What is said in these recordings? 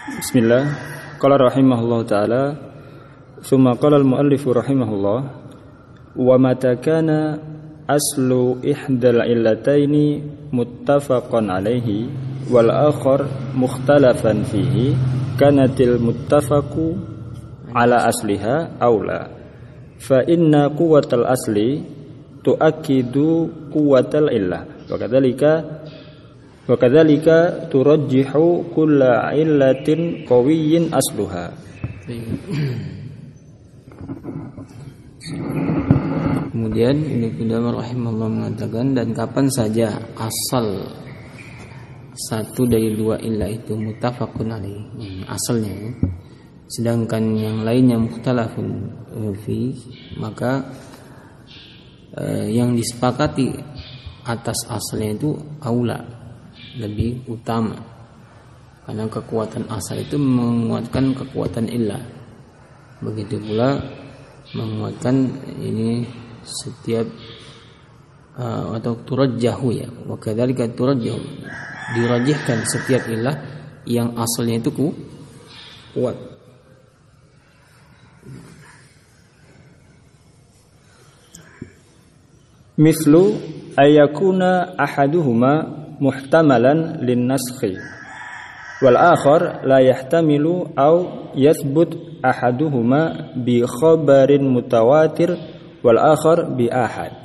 Bismillah. Qala rahimahullah ta'ala, thumma qala al-muallif rahimahullah, wa mata kana aslu ihdal illataini muttafaqan alaihi wal akhar mukhtalafan fihi kanatil muttafaqu ala asliha aula fa inna quwwatal asli tuakkidu quwwatal illah wa kadzalika turajjihu kulla illatin qawiyyin asluha. Kemudian Ibnu Qudamah rahimahullah mengatakan, dan kapan saja asal satu dari dua illah itu muttafaqun alaih, asalnya, sedangkan yang lainnya mukhtalafun fi, maka yang disepakati atas asalnya itu aula, lebih utama, karena kekuatan asal itu menguatkan kekuatan illah. Begitu pula menguatkan ini setiap atau turajjahu, ya, wa kadzalika turajjahu, dirajihkan setiap illah yang asalnya itu kuat. Mislu ayakuna ahaduhuma muhtamalan lin-naskhi wal akhar la yahtamilu aw yathbut ahaduhuma bi khabarin mutawatir wal akhar bi ahad.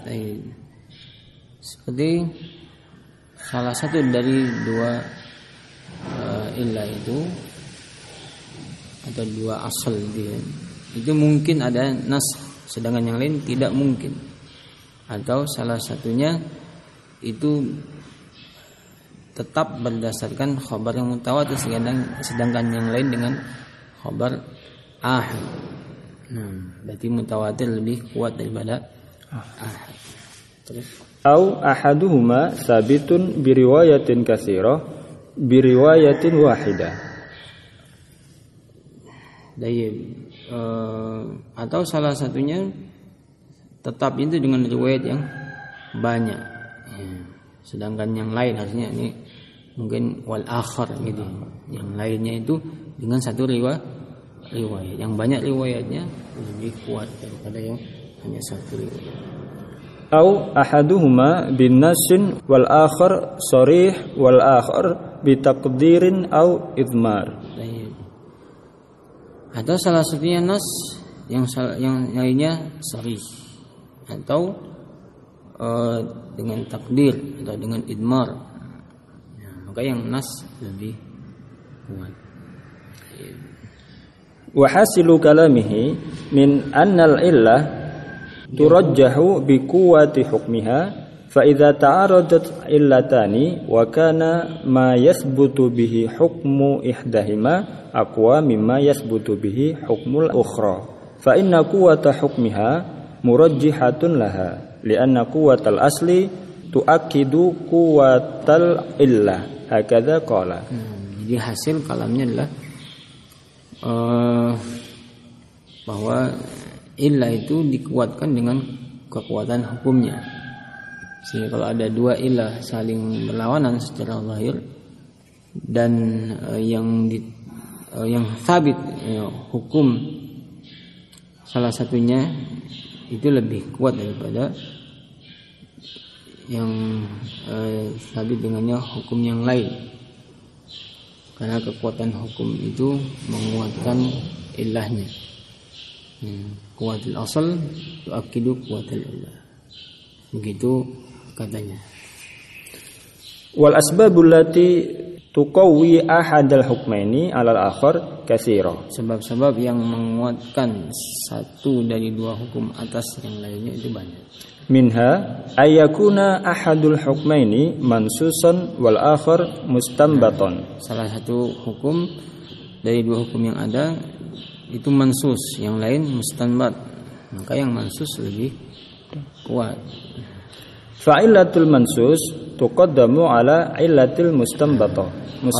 Seperti salah satu dari dua illah itu atau dua asal dia, itu mungkin ada nas, sedangkan yang lain tidak mungkin. Atau salah satunya itu tetap berdasarkan khabar yang mutawatir, sedangkan yang lain dengan khabar ahad. Berarti mutawatir lebih kuat daripada ahad. Terus Au ahaduhuma sabitun biriwayatin katsirah biriwayatin wahidah. Atau salah satunya tetap itu dengan riwayat yang banyak, ya. Sedangkan yang lain harusnya ini mungkin wal akhar gitu, yang lainnya itu dengan satu riwayat yang banyak riwayatnya lebih kuat daripada yang hanya satu riwayat. Au ahaduhuma bin nasin wal akhar sharih wal akhar bi taqdirin au idmar. Atau salah satunya nas, yang lainnya sharih, atau dengan takdir atau dengan idmar, maka yang nas lebih kuat. Wa hasilu kalamihi min annal illah turajjahu bi quwwati hukmiha fa idza ta'aradat illatani wa kana ma yathbutu bihi hukmu ihdahima aqwa mimma yathbutu bihi hukmul ukhra fa inna quwwata hukmiha murajjihatun laha li'anna quwwatal asli tuakkidu quwwatal illah, hakadha qala. Jadi hasil kalamnya adalah bahwa illah itu dikuatkan dengan kekuatan hukumnya. Sehingga kalau ada dua illah saling berlawanan secara zahir dan yang sabit, hukum salah satunya itu lebih kuat daripada yang sabit dengannya hukum yang lain, karena kekuatan hukum itu menguatkan illahnya. Kuatul asal tuakidu kuatul illah, begitu katanya. Wal asbabul lati tuqawwi ahadal hukmaini 'alal akhar katsira. Sebab-sebab yang menguatkan satu dari dua hukum atas yang lainnya itu banyak. Minha ayyakuna ahadul hukmaini mansusan wal akhar mustanbatan. Salah satu hukum dari dua hukum yang ada itu mansus, yang lain mustanbat, maka yang mansus lebih kuat. Fa'illatul mansus tuqaddamu ala illatil mustanbata.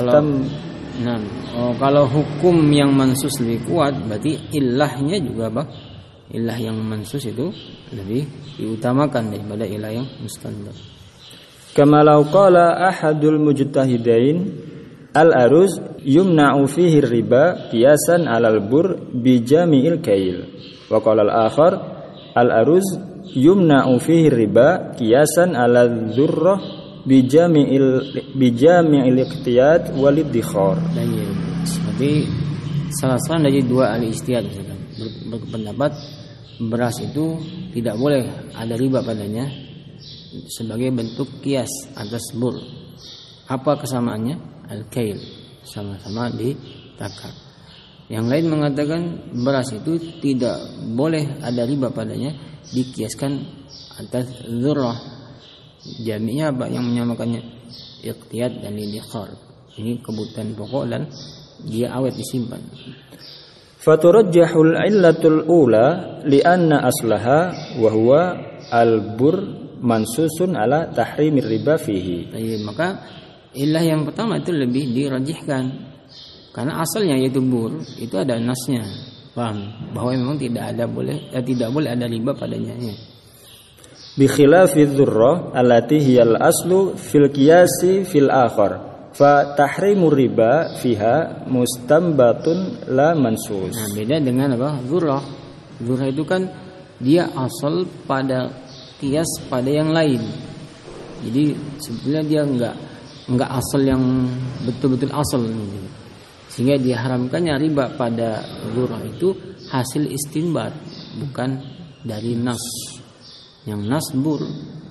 Kalau hukum yang mansus lebih kuat, berarti ilahnya juga apa? Ilah yang mansus itu lebih diutamakan daripada ilah yang mustanbat. Kama law qala ahadul mujtahidain Al-aruz yumna'u fihi riba qiyasan 'alal bur bi jami'il kail. Wa qala al-akhar al-aruz yumna'u fihi riba qiyasan 'ala dzurrah bi jami'il iqtiyad wal iddikhar. Seperti salah satu dari dua ahli ijtihad berpendapat beras itu tidak boleh ada riba padanya sebagai bentuk kias atas bur. Apa kesamaannya? Al-kail, sama-sama ditakar. Yang lain mengatakan beras itu tidak boleh ada riba padanya dikiaskan atas dzurrah. Jami'nya apa yang menyamakannya? Iqtiyad dan iddikhar. Ini kebutuhan pokok dan dia awet disimpan. Faturajjahul illatul ula li'anna aslaha wa huwa al-bur mansusun ala tahrimir riba fihi. Maka ilah yang pertama itu lebih dirajihkan karena asalnya yaitu bur itu ada nasnya, paham, bahwa memang tidak boleh ada riba padanya. Bi khilafi dzurrah allati hiyal aslu fil qiyasi fil akhar fa tahrimur riba fiha mustanbatun la mansus. Nah, beda dengan apa? Dzurrah. Dzurrah itu kan dia asal pada kias pada yang lain. Jadi sebenarnya dia enggak asal yang betul-betul asal, sehingga diharamkannya riba pada dzurrah itu hasil istinbat, bukan dari nas. Yang nas bur.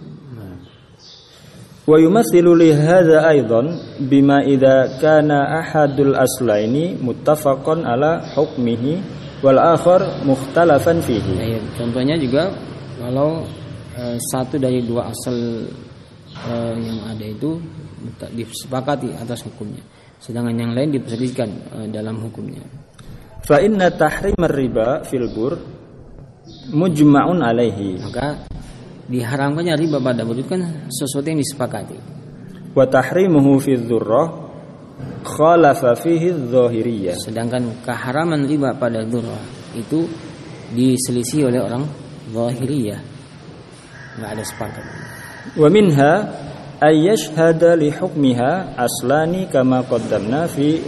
Wa yumathilu li hadza aidan bima idza kana ahadul aslaini muttafaqan ala hukmihi wal akhar mukhtalafan fihi. Contohnya juga kalau satu dari dua asal yang ada itu disepakati atas hukumnya, sedangkan yang lain diperselisihkan dalam hukumnya. Fa inna tahrimar riba fil bur mujma'un alaihi. Maka diharamkannya riba pada bur itu kan sesuatu yang disepakati. Wa tahrimuhu fi dzurrah khalafa fihi adh-dhahiriyah. Sedangkan keharaman riba pada dzurrah itu diselisih oleh orang Zahiriyah. Enggak ada sepakat. Wa minha ay yashhada li hukmiha aslani kama qaddamna fi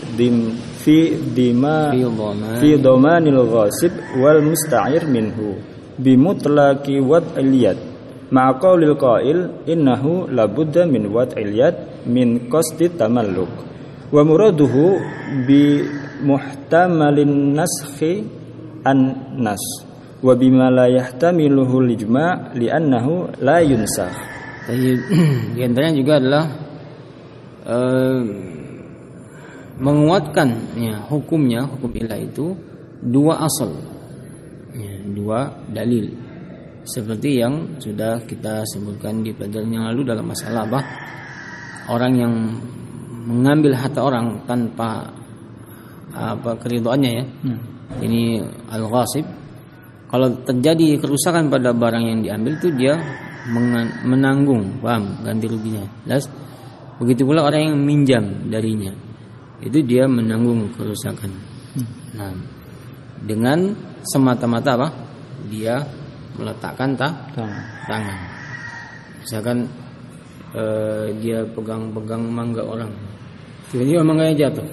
dhamanil ghasib wal musta'ir minhu bi mutlaqi wad'il yad ma'a qaulil qail innahu labudda min wad'il yad min qasdi tamalluk wa muraduhu bi muhtamalin naskhi an-nas wa bima la yahtamiluhu al-ijma' li'annahu la yunsakh. Di antaranya juga adalah menguatkan hukum ilah itu dua asal, dua dalil, seperti yang sudah kita sebutkan di pelajaran yang lalu dalam masalah orang yang mengambil harta orang tanpa keridhaannya ini al-ghasib. Kalau terjadi kerusakan pada barang yang diambil itu dia menanggung, paham, ganti ruginya. Begitu pula orang yang minjam darinya, itu dia menanggung kerusakan. Nah, dengan semata-mata dia meletakkan tangan. Misalkan dia pegang mangga orang, tiba-tiba mangganya jatuh,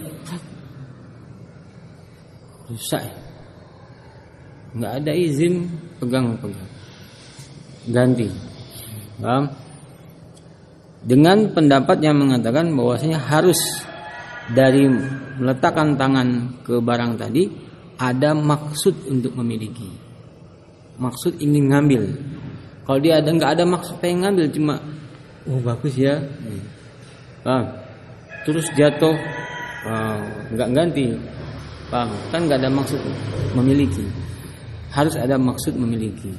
rusak. Nggak ada izin pegang, ganti. Paham? Dengan pendapat yang mengatakan bahwasanya harus dari meletakkan tangan ke barang tadi ada maksud untuk memiliki, maksud ingin ngambil. Kalau dia nggak ada maksud pengen ngambil, cuma bagus ya, paham? Terus jatuh, nggak ganti, paham? Kan nggak ada maksud memiliki. Harus ada maksud memiliki.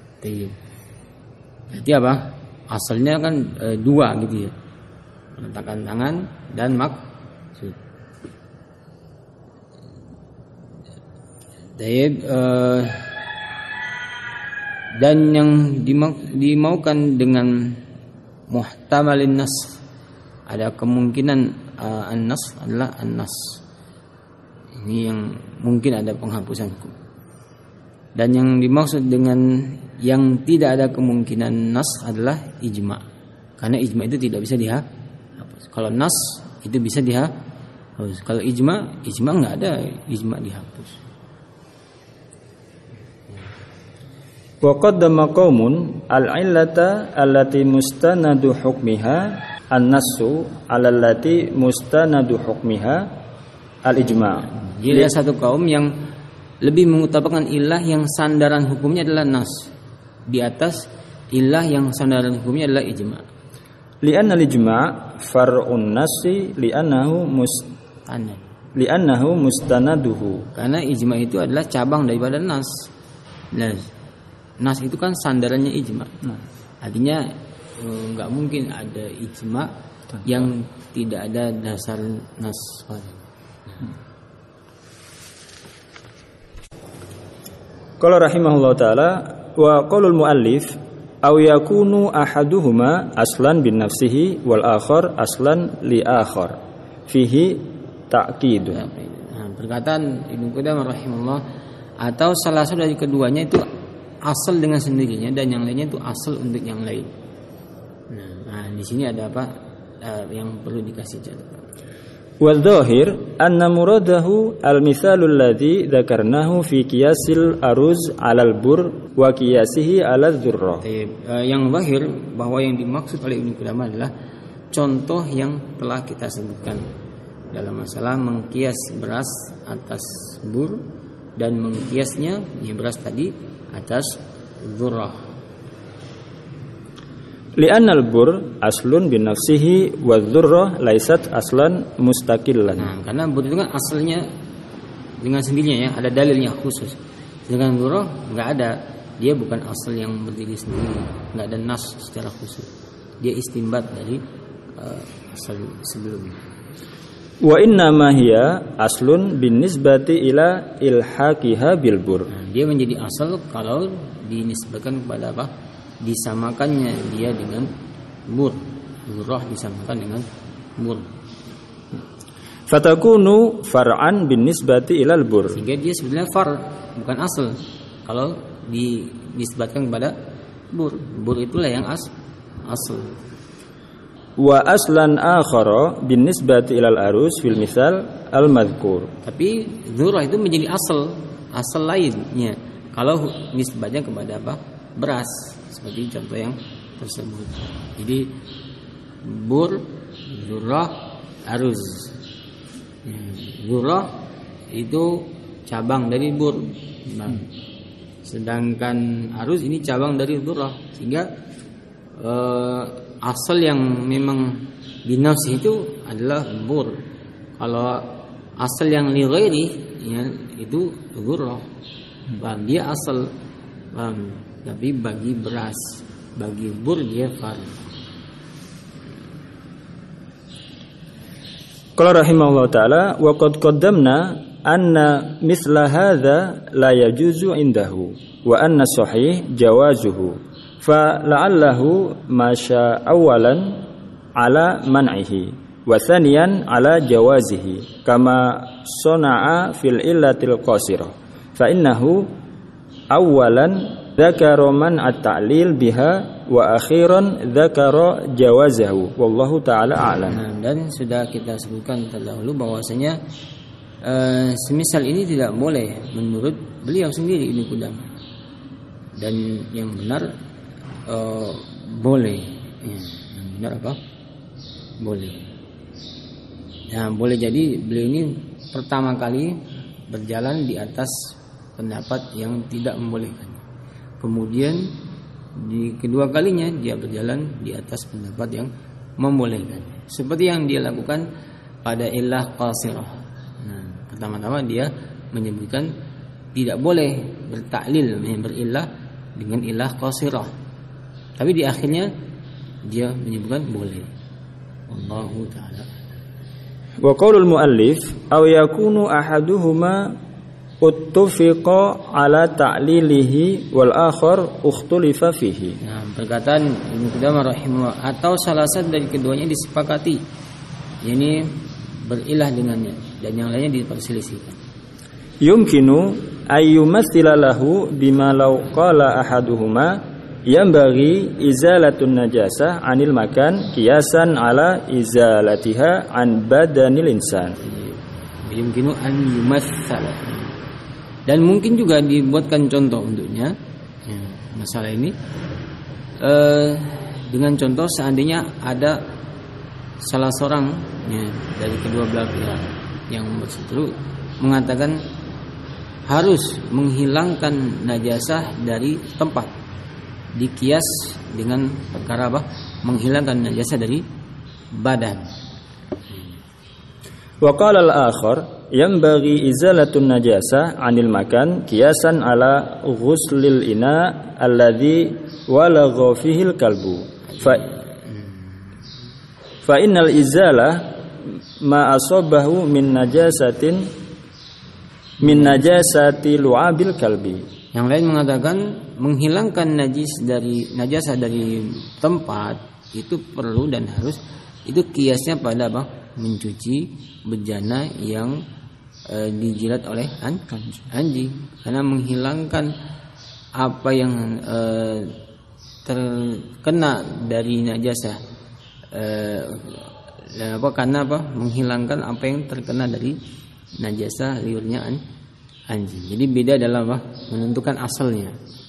Jadi apa? Asalnya kan dua gitu ya. Meletakkan tangan dan maksud. Dan yang dimaukan dengan muhtamalin nas, ada kemungkinan an-nas adalah an-nas. Ini yang mungkin ada penghapusan hukum. Dan yang dimaksud dengan yang tidak ada kemungkinan nas adalah ijma. Karena ijma itu tidak bisa dihapus. Kalau nas itu bisa Kalau ijma nggak ada, ijma dihapus. Wa qaddama qaumun al-illata allati mustanadu hukmiha an-nassu 'ala allati mustanadu hukmiha al-ijma'. Jadi ada satu kaum yang lebih mengutamakan ilah yang sandaran hukumnya adalah nas di atas ilah yang sandaran hukumnya adalah ijma'. Li'anna al-ijma' far'un nassi li'annahu mustanaduhu. Karena ijma' itu adalah cabang daripada nas. Nas itu kan sandarannya ijma'. Artinya nggak mungkin ada ijma' yang tidak ada dasar nas. Qala rahimahullah taala wa qaulul muallif aw yakunu ahaduhuma aslan bin nafsihi wal akhar aslan li akhar fihi ta'kid. Perkataan Ibnu Qudamah rahimahullah, atau salah satu dari keduanya itu asal dengan sendirinya dan yang lainnya itu asal untuk yang lain. Nah, di sini ada apa yang perlu dikasih catatan. Wal-dhahir anna muradahu al-mithalul ladzi dzakarnahu fi qiyasil aruz 'alal bur wa qiyasihi 'alal dzurrah. Yang zahir bahwa yang dimaksud oleh Ibnu Qudamah adalah contoh yang telah kita sebutkan dalam masalah mengkias beras atas bur dan mengkiasnya yang beras tadi atas dzurrah. Li'anna al-bur aslun bin nafsihi wa dzurrah laisat aslan mustaqillan. Nah, karena bur itu kan asalnya dengan sendirinya ya, ada dalilnya khusus. Dengan dzurrah enggak ada, dia bukan asal yang berdiri sendiri, enggak ada nas secara khusus. Dia istinbat dari asal sebelumnya. Wa inna ma hiya aslun bin nisbati ila ilhaqiha bil bur. Nah, dia menjadi asal kalau dinisbatkan kepada apa? Disamakannya dia dengan bur. Dzurrah disamakan dengan bur. Fatakunu far'an bin nisbati ilal bur. Sehingga dia sebenarnya far, bukan asal. Kalau dinisbatkan kepada bur, bur itulah yang asal. Wa aslan akhara bin nisbati ilal arus fil misal al madhkur. Tapi dzurrah itu menjadi asal lainnya kalau nisbatnya kepada apa? Beras, seperti contoh yang tersebut. Jadi bur, dzurrah, aruz. Dzurrah itu cabang dari bur. Nah, sedangkan aruz ini cabang dari dzurrah, sehingga asal yang memang binafsi itu adalah bur. Kalau asal yang li ghairi ya, itu dzurrah. Dia asal, tapi bagi beras, bagi bur dia far. Qala rahimahullah taala wa qad qaddamna anna mithla hadza la yajuzu indahu wa anna sahih jawazuhu fa la'allahu masya awalan ala man'ihi wa thaniyan ala jawazihi kama sana'a fil illatil qasirah fa innahu awalan dzakara man at-ta'lil biha wa akhiran dzakara jawazahu wallahu taala a'lam. Dan sudah kita sebutkan terdahulu bahwasanya semisal ini tidak boleh menurut beliau sendiri Ibnu Qudamah. Dan yang benar boleh. Yang benar apa? Boleh. Nah, boleh jadi beliau ini pertama kali berjalan di atas pendapat yang tidak membolehkan. Kemudian di kedua kalinya dia berjalan di atas pendapat yang membolehkan. Seperti yang dia lakukan pada illah qasirah. Nah, pertama-tama dia menyebutkan tidak boleh bertaklil berillah dengan illah qasirah. Tapi di akhirnya dia menyebutkan boleh. Wallahu taala. Wa qaulul muallif aw yakunu ahaduhuma uttufiqa ala ta'lilihi wal akhar ukhtulifa fihi. Nah, perkataan Ibnu Qudamah rahimahullah, atau salah satu dari keduanya disepakati, yakni berilah dengannya dan yang lainnya diperselisihkan. Yumkinu ayyumatsila lahu bima law qala ahaduhuma yanbaghi izalatun najasah 'anil makan qiyasan ala izalatiha an badanil insan. yumkinu an yumatsala. Dan mungkin juga dibuatkan contoh untuknya masalah ini dengan contoh seandainya ada salah seorang dari kedua belah pihak yang berseteru mengatakan harus menghilangkan najasah dari tempat, dikias dengan perkara apa? Menghilangkan najasah dari badan. Wa qala al-akhar yanbaghi izalatun najasah 'anil makan qiyasan ala ghuslil ina alladhi walagha fihi al-kalbu. Fa innal izalah ma asabahu min najasati lu'abil kalbi. Yang lain mengatakan menghilangkan najasah dari tempat itu perlu dan harus, itu kiasnya pada apa? Mencuci bejana yang dijilat oleh anjing. Karena menghilangkan apa yang terkena dari najasah karena apa? Menghilangkan apa yang terkena dari najasah liurnya anjing. Jadi beda dalam apa? Menentukan asalnya.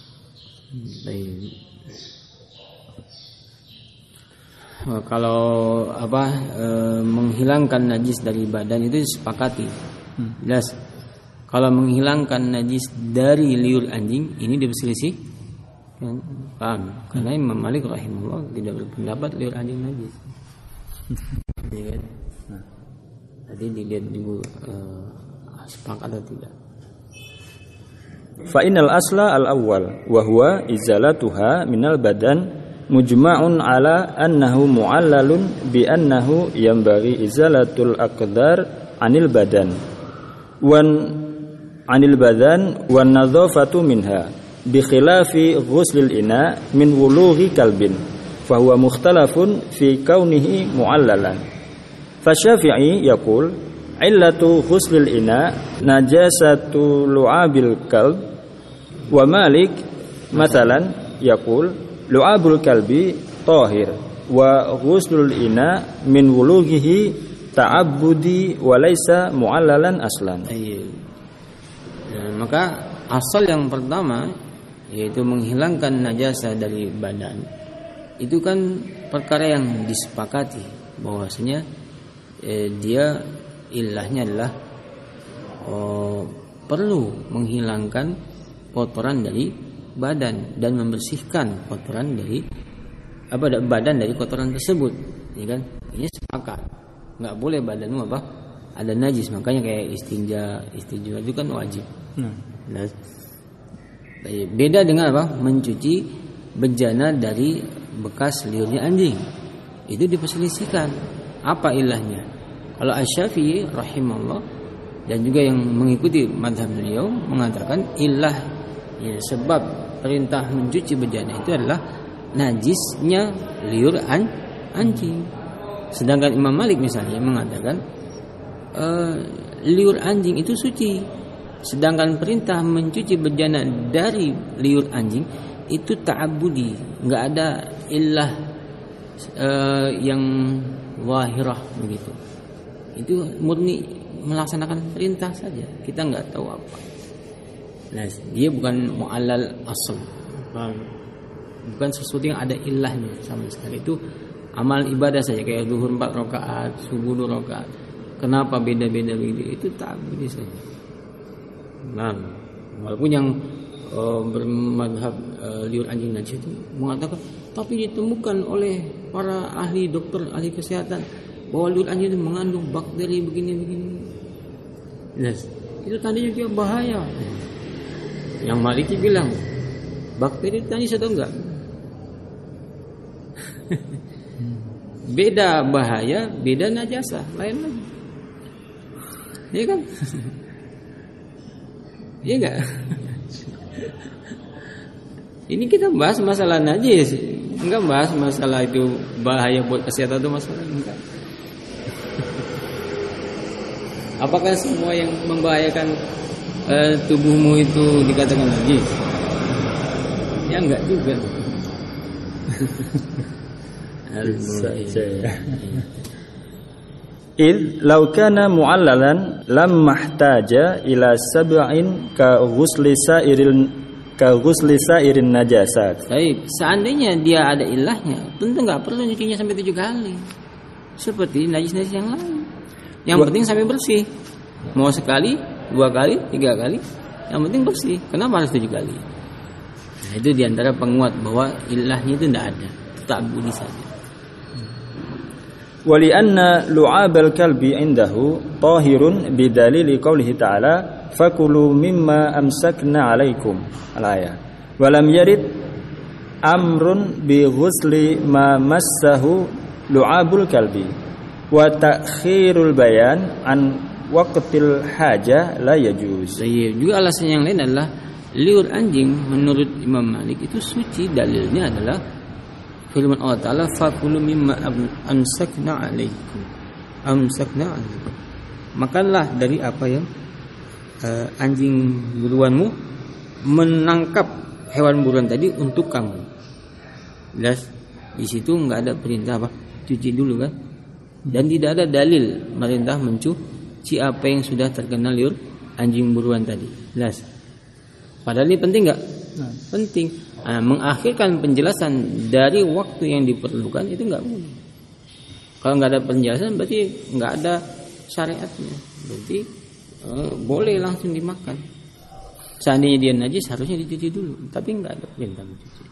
Kalau apa menghilangkan najis dari badan itu disepakati. Jelas. Kalau menghilangkan najis dari liur anjing ini diperselisih. Paham? Karena Imam Malik rahimahullah tidak berpendapat liur anjing najis. Ya kan? Tadi dilihat dulu sepakat atau tidak. Fa innal asla al-awwal wa huwa izalatuha minal badan mujma'un ala annahu mu'allalun bi annahu yanbaghi izalatul aqdar 'anil badan wan nadhafatu minha bi khilafi ghuslil ina min wulughi kalbin fa huwa mukhtalafun fi kaunihi mu'allalan. Fa Syafi'i yaqul illatu ghuslil ina najasatu lu'abil kalb wa Malik mathalan yaqul lu'abul kalbi tahir wa ghuslul ina min wulughihi ta'abbudi wa laisa mu'allalan aslan. Maka asal yang pertama yaitu menghilangkan najasah dari badan itu kan perkara yang disepakati bahwasanya dia ilahnya adalah perlu menghilangkan kotoran dari badan dan membersihkan kotoran dari badan dari kotoran tersebut, ya kan? Ini sepakat. Nggak boleh badanmu ada najis, makanya kayak istinja itu kan wajib. Nah, beda dengan mencuci bejana dari bekas liurnya anjing. Itu diperselisihkan apa ilahnya. Kalau Asy-Syafi'i rahimahullah dan juga yang mengikuti mazhab beliau mengatakan ilah sebab perintah mencuci bejana itu adalah najisnya liur anjing. Sedangkan Imam Malik misalnya mengatakan liur anjing itu suci. Sedangkan perintah mencuci bejana dari liur anjing itu ta'abbudi, enggak ada illah yang wahirah begitu. Itu murni melaksanakan perintah saja. Kita enggak tahu apa. Nah, dia bukan mu'allal asal. Bukan sesuatu yang ada ilahnya sama sekali. Itu amal ibadah saja kayak zuhur 4 rakaat, subuh 2 rakaat. Kenapa beda-beda begitu? Itu ta'abbudi saja. Nah, walaupun yang bermadhab liur anjing najis itu mengatakan tapi ditemukan oleh para ahli dokter, ahli kesehatan bahwa liur anjing itu mengandung bakteri begini-begini. Yes. Itu tadinya dia bahaya. Yang Maliki bilang bakteri itu najis atau enggak? Beda bahaya, beda najasa, lain lagi. Iya kan? Iya enggak? Ini kita bahas masalah najis, enggak bahas masalah itu bahaya buat kesehatan atau masalah enggak. Apakah semua yang membahayakan tubuhmu itu dikatakan najis? Ya enggak juga. id law kana mu'allalan lam mahtaja ila sab'in ka ghusli sairin najasat. Baik, seandainya dia ada ilahnya, tentu enggak perlu nyucinya sampai 7 kali. Seperti najis-najis yang lain. Yang penting sampai bersih. Mau sekali, 2 kali, 3 kali, yang penting bersih. Kenapa harus 7 kali? Nah, itu diantara penguat bahwa ilahnya itu tidak ada, tetap budi saja. Wali anna lu'abal kalbi indahu tahirun bidalili qawlihi ta'ala fakulu mimma amsakna alaikum al-ayah. Walam yarid amrun bi ghusli ma massahu lu'abul kalbi wa ta'khirul bayan an waqtil haja la yajuz. Juga alasan yang lain adalah liur anjing menurut Imam Malik itu suci. Dalilnya adalah firman Allah Ta'ala fakulu mimma amsakna alaikum. Makanlah dari apa yang anjing buruanmu menangkap hewan buruan tadi untuk kamu. Jelas di situ enggak ada perintah apa cuci dulu kan, dan tidak ada dalil perintah mencuci apa yang sudah terkena liur anjing buruan tadi. Jelas. Padahal ini penting enggak? Penting. Mengakhirkan penjelasan dari waktu yang diperlukan itu enggak boleh. Kalau enggak ada penjelasan berarti enggak ada syariatnya. Berarti boleh langsung dimakan. Seandainya dia najis harusnya dicuci dulu, tapi enggak ada perintah mencuci.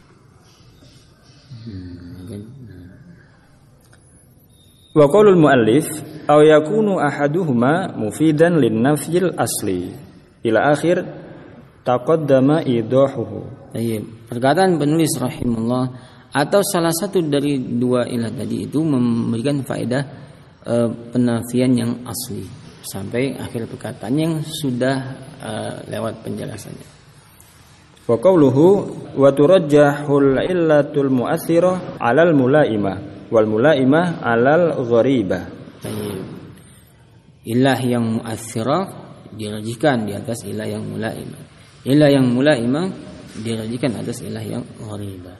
Wa qaulul muallif aw yakunu ahaduhuma mufidan lin-nafyil asli ila akhir taqaddama idahuhu. Perkataan penulis rahimahullah, atau salah satu dari dua ilah tadi itu memberikan faedah penafian yang asli sampai akhir perkataan yang sudah lewat penjelasannya. Wa qawluhu wa turajjahul illatul mu'athirah 'alal mulaimah wal mulaimah 'alal gharibah. Ilah yang mu'athirah dirajihkan di atas ilah yang mulaimah. Ilah yang mulaimah dirajihkan atas ilah yang gharibah.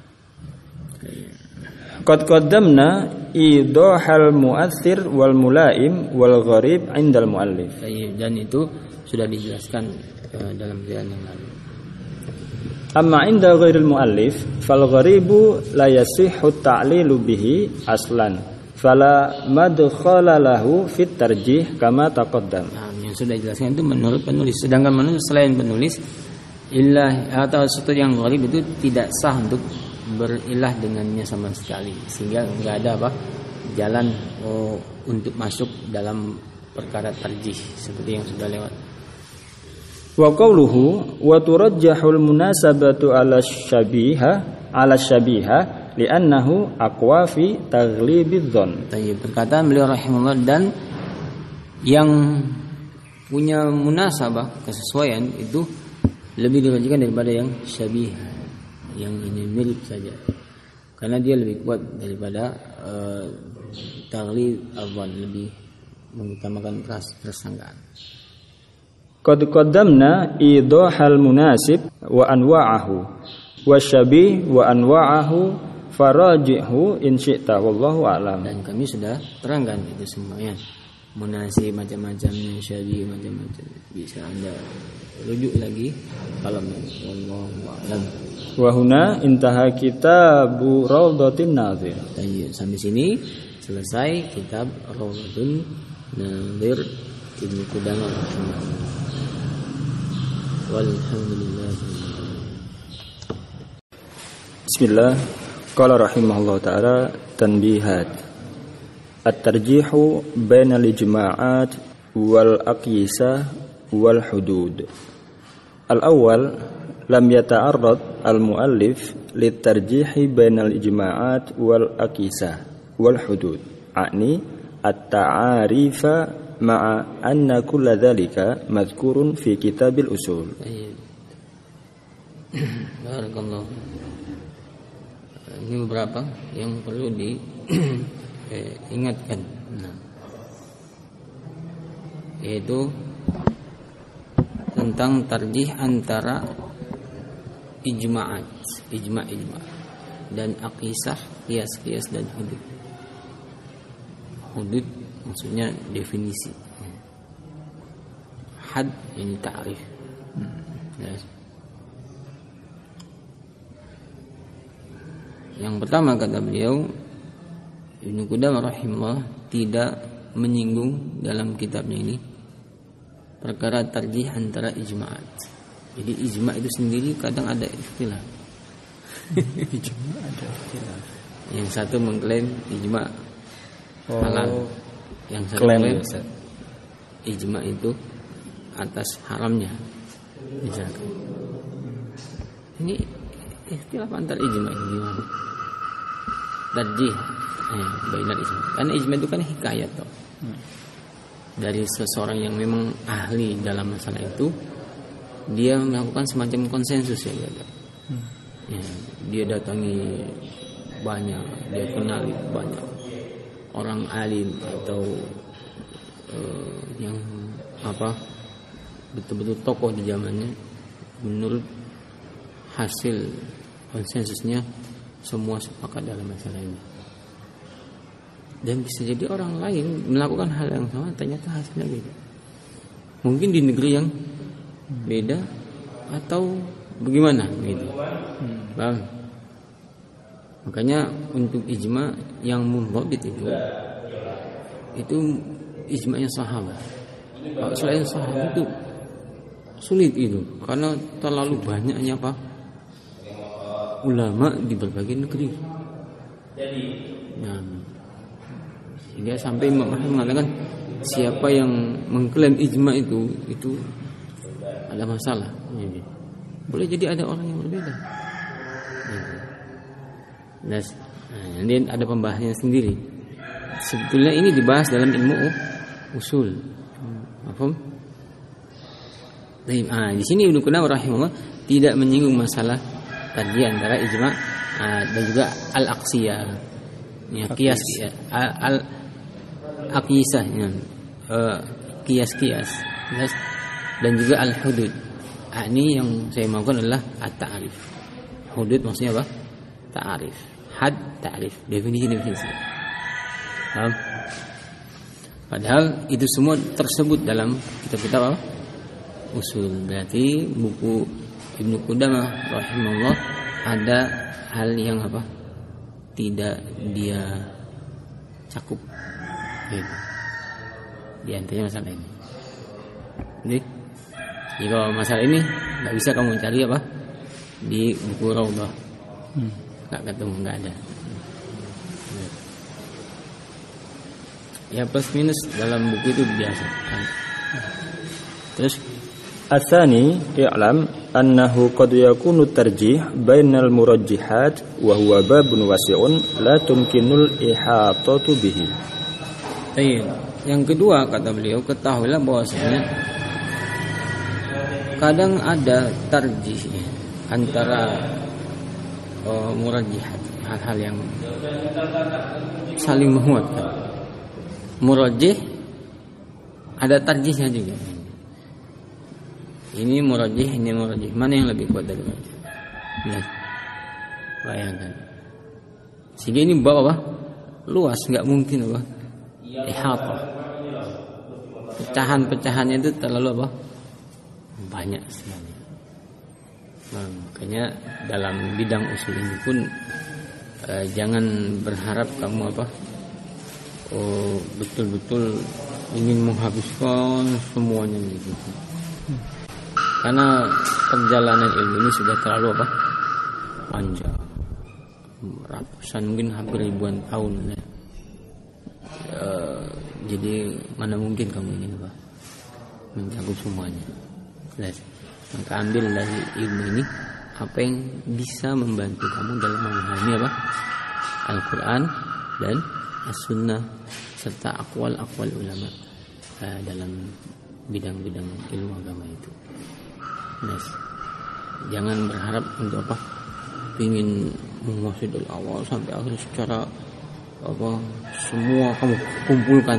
Qad qaddamna idahal mu'athir wal mulaim wal gharib 'indal muallif. Dan itu sudah dijelaskan dalam jalan yang lalu. Amma 'inda ghairil muallif fal gharibu la yasihhu ta'lilu bihi aslan fala madkhala lahu fit tarjih kama taqaddam. Yang sudah dijelaskan itu menurut penulis. Sedangkan menurut selain penulis, ilah atau sesuatu yang gharib itu tidak sah untuk berilah dengannya sama sekali, sehingga enggak ada apa jalan untuk masuk dalam perkara tarjih seperti yang sudah lewat. Wa qawluhu wa turajjahul munasabatu 'ala syabiha li'annahu aqwa fi taghlibidz dzan. Perkataan beliau rahimahullah, dan yang punya munasabah kesesuaian itu lebih dirajihkan daripada yang syabih, yang ini mirip saja, karena dia lebih kuat daripada taghlib dzan, lebih mengutamakan prasangkaan. Qad qaddamna idahal munasib wa anwa'ahu wa syabih wa anwa'ahu farajihu in syi'ta wallahu a'lam. Dan kami sudah terangkan itu semuanya. Munasib macam-macamnya, syabih macam-macam. Bisa Anda rujuk lagi kalau wallahu a'lam. Wa huna intaha kitabu Raudhatin Nadhir. Sampai sini selesai kitab Raudhatun Nadhir Ibnu Qudamah rahimahullah. Walhamdulillah. Bismillah. Qala rahimahullah ta'ala tanbihat. At-tarjihu bainal ijma'at wal aqyisah wal hudud. Al-awwal lam yata'arrad al-muallif litarjihi bainal ijma'at wal aqyisah wal hudud. A'ni at-ta'arifa ma'a anna kulla dhalika madhkurun fi kitabil usul. Barakallahu. Ini beberapa yang perlu diingatkan. Yaitu tentang tarjih antara ijma' dan aqisah, qiyas dan hudud. Hudud maksudnya definisi. Had ini ta'rif. Yes. Yang pertama kata beliau, Ibnu Qudamah rahimahullah tidak menyinggung dalam kitabnya ini perkara tarjih antara ijma'at. Jadi ijma' itu sendiri kadang ada ikhtilaf. Ijma' ada ikhtilaf. Yang satu mengklaim ijma' halal, yang satu klaim mengklaim ijma' itu atas haramnya. Misalkan ini ikhtilaf antar ijma' ini gimana? Tarjih bainal ijma'. Karena ijma' itu kan hikayat toh. Dari seseorang yang memang ahli dalam masalah itu, dia melakukan semacam konsensus ya, ya, dia datangi banyak, dia kenali banyak orang alim atau yang betul-betul tokoh di zamannya. Menurut hasil konsensusnya semua sepakat dalam masalah ini. Dan bisa jadi orang lain melakukan hal yang sama, ternyata hasilnya beda. Mungkin di negeri yang beda atau bagaimana gitu. Paham? Makanya untuk ijma yang mundhabit itu ijma'nya sahabat. Kalau selain sahabat itu sulit itu, karena terlalu banyaknya ulama di berbagai negeri. Nah, sehingga sampai Imam Ahmad mengatakan siapa yang mengklaim ijma itu ada masalah. Boleh jadi ada orang yang berbeda. Nah, ini ada pembahasannya sendiri. Sebetulnya ini dibahas dalam ilmu usul. Paham? Di sini Ibnu Qudamah rahimahullah tidak menyinggung masalah tadi antara ijma' dan juga al-aqsiyah. Ya, qiyas al-aqisah ya. Qiyas dan juga al-hudud. Ini yang saya maksudkan adalah at-ta'rif. Hudud maksudnya apa? Ta'rif. Had ta'rif, definisi. Paham? Padahal itu semua tersebut dalam kitab-kitab apa? Usul. Berarti buku Ibnu Qudamah rahimahullah ada hal yang apa? Tidak dia cakup. Gitu. Di antaranya masalah ini. Jadi kalau masalah ini nggak bisa kamu cari apa di buku Raudhah. Nggak ketemu, nggak ada. Ya plus minus dalam buku itu biasa. Terus Atsani i'lam annahu qad yakunu tarjih bainal murajjihat wa huwa babun wasi'un la tumkinul ihatatu bihi. Yang kedua kata beliau, ketahuilah bahwasanya kadang ada tarjih antara murajjihat, hal-hal yang saling menguatkan. Murajjih ada tarjihnya juga. Ini murajjih, ini murajjih. Mana yang lebih kuat dari murajjih? Lihat. Bayangkan. Sehingga ini bab apa? Luas, enggak mungkin apa? Ihatah. Pecahan-pecahannya itu terlalu apa? Banyak sekali. Nah, makanya dalam bidang usul ini pun jangan berharap kamu apa? Betul-betul ingin menghabiskan semuanya gitu. Karena perjalanan ilmu ini sudah terlalu apa? Panjang. Ratusan, mungkin hampir ribuan tahun ya. Jadi mana mungkin kamu ingin apa? Mencakup semuanya. Maka ambil dari ilmu ini apa yang bisa membantu kamu dalam memahami apa? Al-Quran dan As-Sunnah serta akwal-akwal ulama dalam bidang-bidang ilmu agama itu. Jangan berharap untuk apa? Ingin menguasai dari awal sampai akhir secara apa? Semua kamu kumpulkan.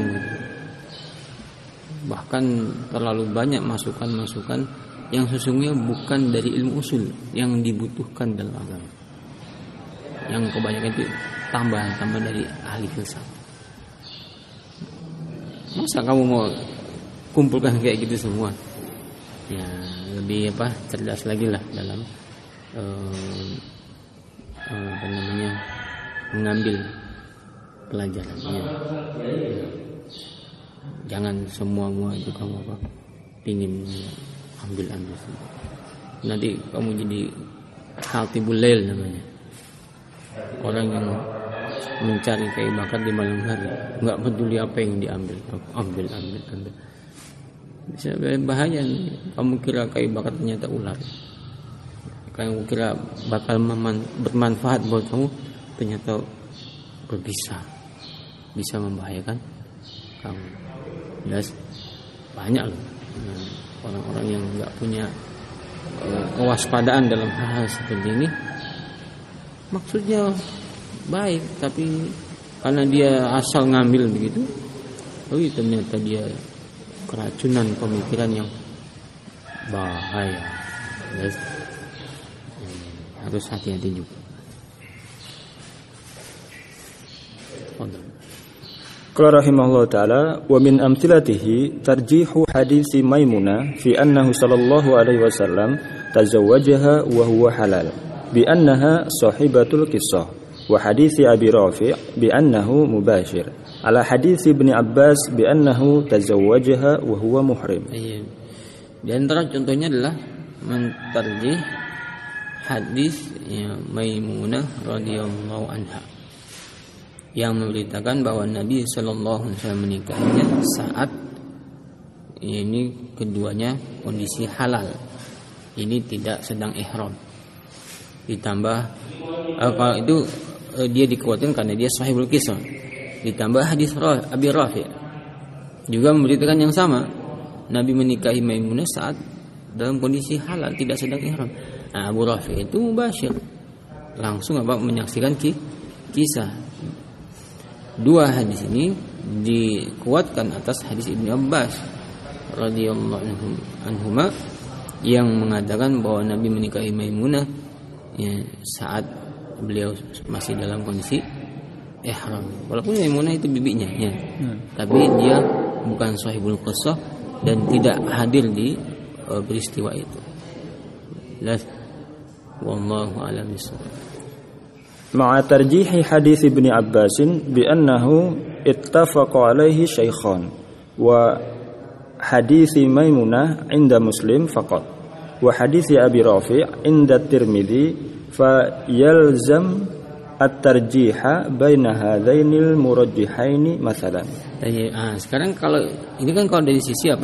Bahkan terlalu banyak masukan-masukan yang sesungguhnya bukan dari ilmu usul yang dibutuhkan dalam agama. Yang kebanyakan itu tambahan dari ahli filsafat. Masa kamu mau kumpulkan kayak gitu semua? Ya lebih cerdas lagi lah dalam mengambil pelajarannya. Jangan semua itu kamu pingin ambil semua. Nanti kamu jadi khatibul lail namanya. Orang yang mencari kayu bakar di malam hari, nggak peduli apa yang diambil, ambil. Bisa bahaya nih. Kamu kira kayu bakar ternyata ular. Kamu kira bakal bermanfaat buat kamu, ternyata bisa membahayakan kamu. Dan banyak loh orang-orang yang nggak punya kewaspadaan dalam hal seperti ini. Maksudnya baik, tapi karena dia asal ngambil begitu, ternyata dia keracunan pemikiran yang bahaya. Yes. Harus hati-hati juga. Qala rahimahullah ta'ala wa min amthilatihi tarjihu hadisi Maimunah fi annahu sallallahu alaihi wasallam tazawwajaha wa huwa halal bi annaha sahibatul qissah wa hadisi Abi Rafi' bi annahu mubashir ala hadisi Ibnu Abbas bi annahu tazawwajaha wa huwa muhrim. Di antara contohnya adalah mentarjih hadis Maimunah radhiyallahu anha yang memberitakan bahwa Nabi Shallallahu Alaihi Wasallam menikahinya saat ini keduanya kondisi halal, ini tidak sedang ihram. Ditambah kalau itu dia dikuatkan karena dia sahibul qisah. Ditambah hadis Abi Rafi' juga memberitakan yang sama, Nabi menikahi Maimunah saat dalam kondisi halal, tidak sedang ihram. Nah, Abu Rafi' itu mubasyir, langsung menyaksikan kisah. Dua hadis ini dikuatkan atas hadis Ibnu Abbas radhiyallahu anhuma yang mengatakan bahwa Nabi menikahi Maimunah saat beliau masih dalam kondisi ihram. Walaupun Maimunah itu bibinya tapi dia bukan sahibul qissah dan tidak hadir di peristiwa itu. Wallahu a'lam bishawab. مع ترجيح حديث ابن عباس بأنه اتفق عليه شيخان وحديث ميمونة عند مسلم فقط وحديث أبي رافع عند الترمذي فيلزم الترجيح بين هذين المرجحين مثلا. Sekarang kalau ini kan kalau dari sisi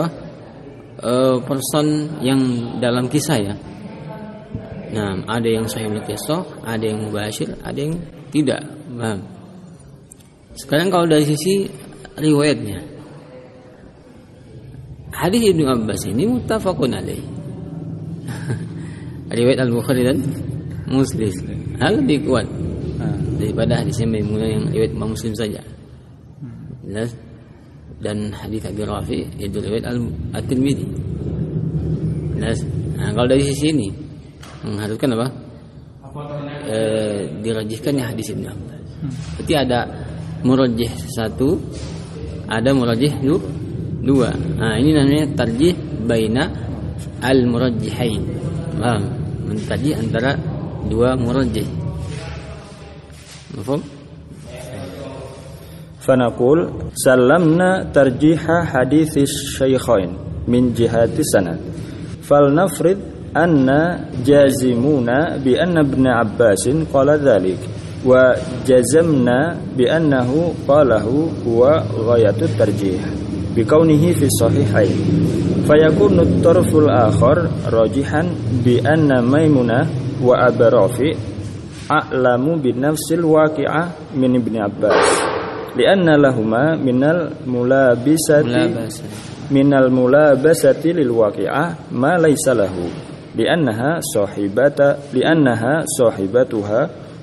person yang dalam kisah ya. Nah, ada yang sahihul qissah, ada yang mubashir, ada yang tidak. Nah, sekarang kalau dari sisi riwayatnya, hadis Ibnu Abbas ini muttafaqun alaih. Riwayat Al-Bukhari dan Muslim lebih kuat daripada hadisnya Maimunah yang riwayat Imam Muslim saja. Dan hadis Abi Rafi itu riwayat At-Tirmidzi. Nah, kalau dari sisi ini mengharuskan dirajihkannya hadis Ibnu Abbas. Berarti ada murajjih satu, ada murajjih dua. Nah, ini namanya tarjih baina al-murajjihain. Mentarjih antara dua murajjih. Mafhum? فنقول سلمنا ترجيح حديث الشيخين من جهة السند فلنفرض أن جازمون بأن ابن عباس قال ذلك وجزمنا بأنه قاله هو غاية الترجيح بكونه في الصحيحين فيكون الطرف الآخر راجحا بأن ميمونة وأبا رافع أعلم بنفس الواقعة من ابن عباس لأن لهما من الملابسة للواقعة ما ليس له لأنها صاحبتها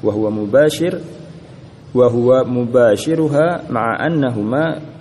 وهو مباشرها مع أنهما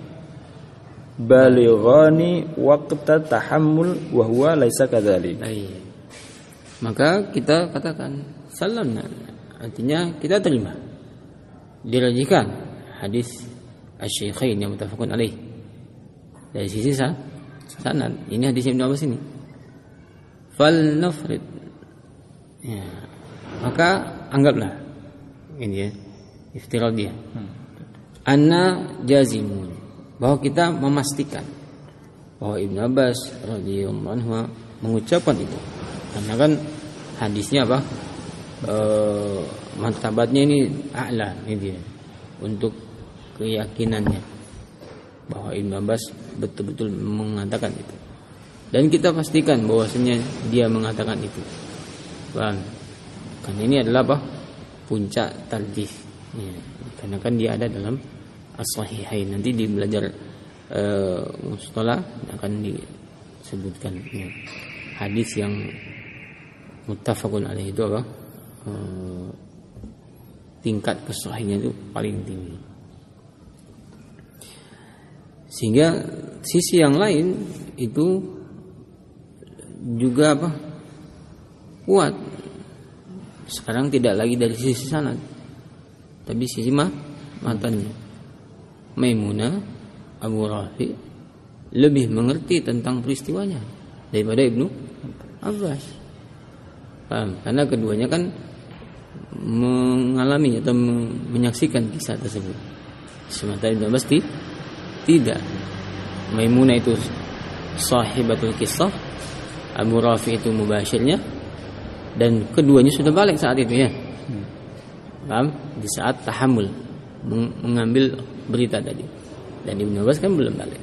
بالغان وقت التحمل وهو ليس كذلك. Maka kita katakan salamna, artinya kita terima, dirajihkan hadis asy-syaikhain yang muttafaqun alaih dari sisi sanad. Ini hadis Ibnu Abbas ini. Fal nafrid. Ya. Maka anggaplah ini ya, iftirad dia. Anna jazimun, bahwa kita memastikan bahwa Ibnu Abbas radhiyallahu anhu mengucapkan itu. Karena kan hadisnya apa? Martabatnya ini a'la ini dia. Untuk keyakinannya bahwa Ibnu Abbas betul-betul mengatakan itu. Dan kita pastikan bahwasanya dia mengatakan itu. Bang, karena ini adalah apa? Puncak tarjih. Ya, karena kan dia ada dalam as-sahihain. Nanti di belajar mustalah akan disebutkan ya, hadis yang muttafaqun alaih itu apa? Tingkat kesahihnya itu paling tinggi. Sehingga sisi yang lain itu juga apa? Kuat. Sekarang tidak lagi dari sisi sanad, tapi sisi matanya. Maimunah Abu Rafi lebih mengerti tentang peristiwanya daripada Ibnu Abbas. Paham? Karena keduanya kan mengalami atau menyaksikan kisah tersebut. Sementara Ibnu Abbas tidak. Maimunah itu sahibatul kisah, Abu Rafi itu mubashirnya, dan keduanya sudah balik saat itu ya. Paham? Di saat tahammul mengambil berita tadi. Dan Ibnu Abbas kan belum balik.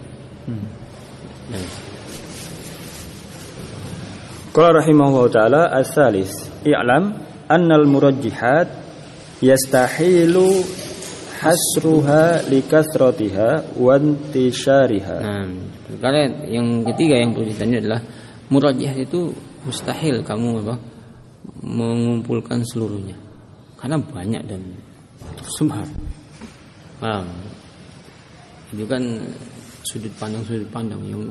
Qala rahimahullah taala as-salis i'lam annal murajjihat yastahilu hasruha likathratiha wa intishariha. Karena yang ketiga yang perlu ditanya adalah murajjihat itu mustahil kamu apa? Mengumpulkan seluruhnya. Karena banyak dan tersebar. Itu kan sudut pandang yang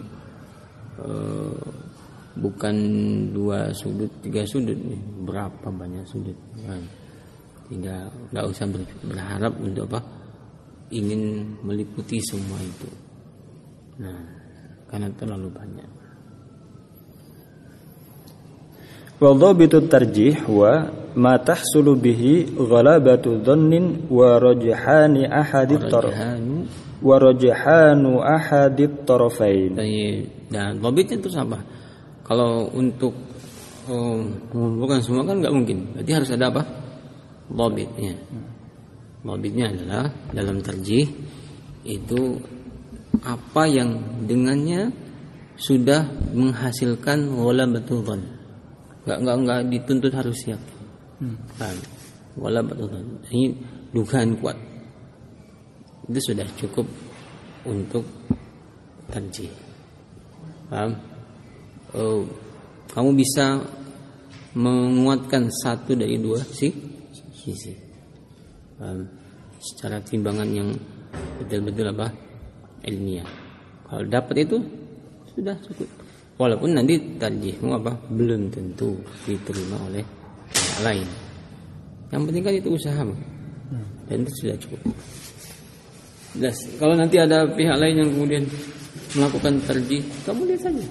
bukan 2 sudut, 3 sudut, berapa banyak sudut kan. Sehingga nggak usah berharap untuk apa ingin meliputi semua itu. Nah, karena terlalu banyak. Wa dhabitut tarjih wa ma tahsulu bihi ghalabatu dhannin wa rajhani ahadit tarafain. Dan dhabitnya itu apa? Kalau untuk mengumpulkan semua kan nggak mungkin. Berarti harus ada apa? Dhabitnya. Dhabitnya adalah dalam tarjih itu apa yang dengannya sudah menghasilkan ghalabatul dhann. Enggak dituntut harus siap. Ghalabatul dhann. Ini dugaan kuat. Itu sudah cukup untuk tarjih. Paham? Kamu bisa menguatkan satu dari 2 sisi. Secara timbangan yang betul-betul apa? Ilmiah. Kalau dapat itu sudah cukup. Walaupun nanti tarjihmu apa? Belum tentu diterima oleh yang lain. Yang penting kan itu usahamu. Dan itu sudah cukup. Jelas. Kalau nanti ada pihak lain yang kemudian melakukan tarjih, kamu lihat saja.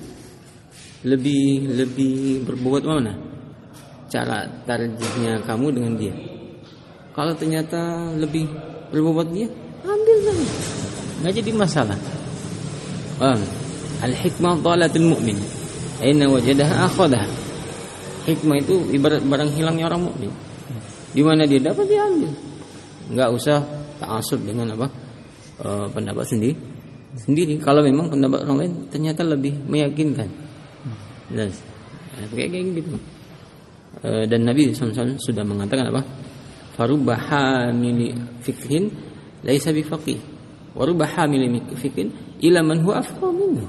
Lebih berbobot mana? Cara tarjihnya kamu dengan dia. Kalau ternyata lebih berbobot dia, ambil saja. Enggak jadi masalah. Al-hikmah dhalatul mu'min. Aina wajadaha akhadaha. Hikmah itu ibarat barang hilangnya orang mukmin. Di mana dia dapat dia ambil. Enggak usah ta'assub dengan apa? Pendapat sendiri. Kalau memang pendapat orang lain ternyata lebih meyakinkan. Jelas. Kayak gitu. Dan Nabi SAW sudah mengatakan apa? Farubba hamili fikhin laisa bifaqih. Wa rubba hamili fikhin ila man huwa afqahu minhu.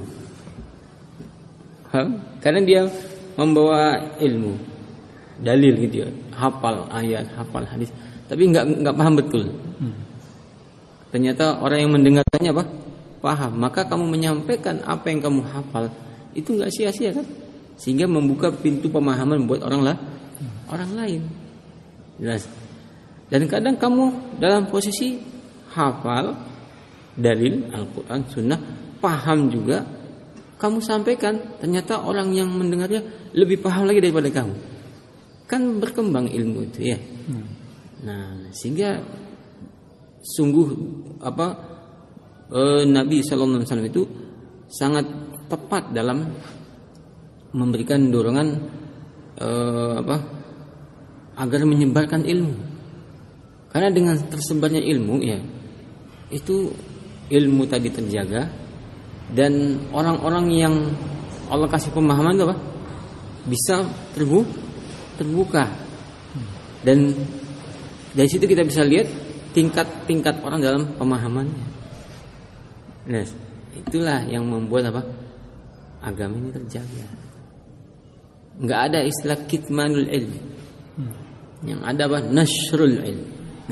Karena dia membawa ilmu, dalil gitu ya, hafal ayat, hafal hadis, tapi enggak paham betul. Ternyata orang yang mendengarkannya apa? Paham. Maka kamu menyampaikan apa yang kamu hafal itu enggak sia-sia kan? Sehingga membuka pintu pemahaman buat orang lain. Jelas. Dan kadang kamu dalam posisi hafal dalil Al-Quran, Sunnah, paham juga kamu sampaikan, ternyata orang yang mendengarnya lebih paham lagi daripada kamu. Kan berkembang ilmu itu ya. Nah, sehingga sungguh Nabi sallallahu alaihi wasallam itu sangat tepat dalam memberikan dorongan agar menyebarkan ilmu. Karena dengan tersebarnya ilmu ya, itu ilmu tadi terjaga, dan orang-orang yang Allah kasih pemahaman itu bisa terbuka. Dan dari situ kita bisa lihat tingkat-tingkat orang dalam pemahamannya. Nah, itulah yang membuat agama ini terjaga. Enggak ada istilah kitmanul ilm. Yang ada nasrul ilm.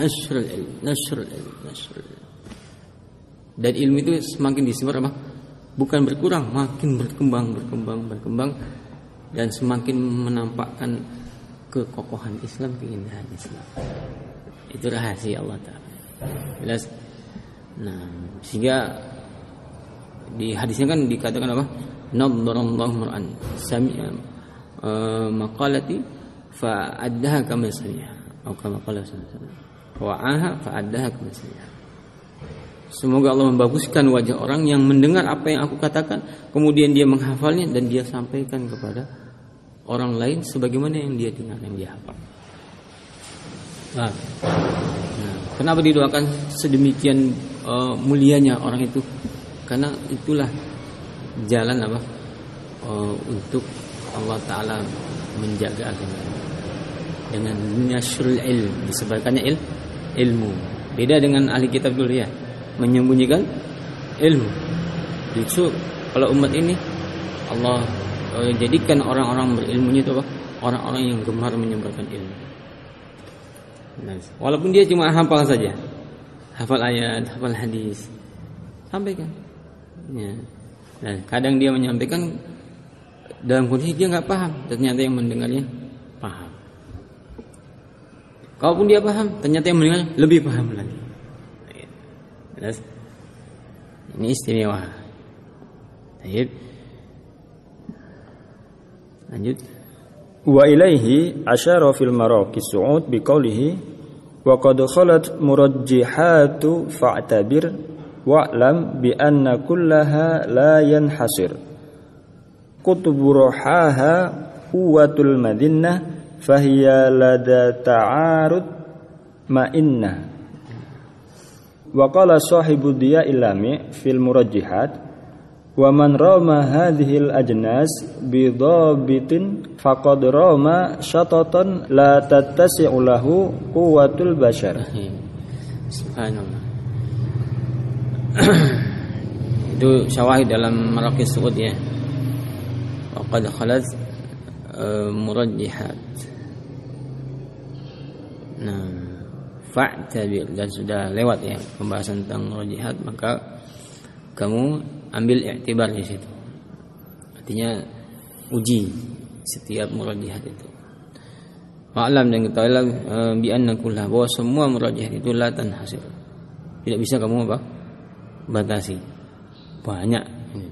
Dan ilmu itu semakin disebar bukan berkurang, makin berkembang dan semakin menampakkan kekokohan Islam, keindahan Islam. Itu rahasia Allah Ta'ala. Jelas. Nah, sehingga di hadisnya kan dikatakan nadharallahu mar'an sami'a maqalati fa'addaha kama sami'a atau kama qala sallallahu wa'aha fa'addaha kama sami'a. Semoga Allah membaguskan wajah orang yang mendengar apa yang aku katakan, kemudian dia menghafalnya dan dia sampaikan kepada orang lain sebagaimana yang dia dengar, yang dia hafal. Nah, kenapa didoakan sedemikian mulianya orang itu? Karena itulah jalan untuk Allah Ta'ala menjaga agama dengan nasrul ilm, disebarkannya ilmu. Beda dengan ahli kitab dulu ya, menyembunyikan ilmu. Justru kalau umat ini Allah jadikan orang-orang berilmunya itu orang-orang yang gemar menyebarkan ilmu. Nah, walaupun dia cuma hafal saja, hafal ayat, hafal hadis, sampaikan. Ya. Nah, kadang dia menyampaikan dalam kondisi dia nggak paham, ternyata yang mendengarnya paham. Kalaupun dia paham, ternyata yang mendengarnya lebih paham lagi. Ini istimewa. Baik. Lanjut. Wa ilaihi asyara fil maraqis su'ud biqaulihi wa qad khalat murajjihatu fa'tabir wa'lam bi anna kullaha la yanhasir qutburuhaha quwwatul madinnah fahiya lada ta'arud ma'innah. Wa qala sahibu diya ilami fil murajjihat wa man rama hadhil ajnas bi dhabitin faqad rama syatatan la tattasi'u lahu quwwatul bashar. Subhanallah. Itu syawahid dalam Maraqis Su'ud ya. Wa qad khalat murajjihat. Nah, fa'tabir, dan sudah lewat ya pembahasan tentang murajjihat, maka kamu ambil i'tibar di situ. Artinya uji setiap murajjihat itu. Wa'lam, dan ketahuilah bi anna kullah, bahwa semua murajjihat itu la tanhasir. Tidak bisa kamu batasi. Banyak.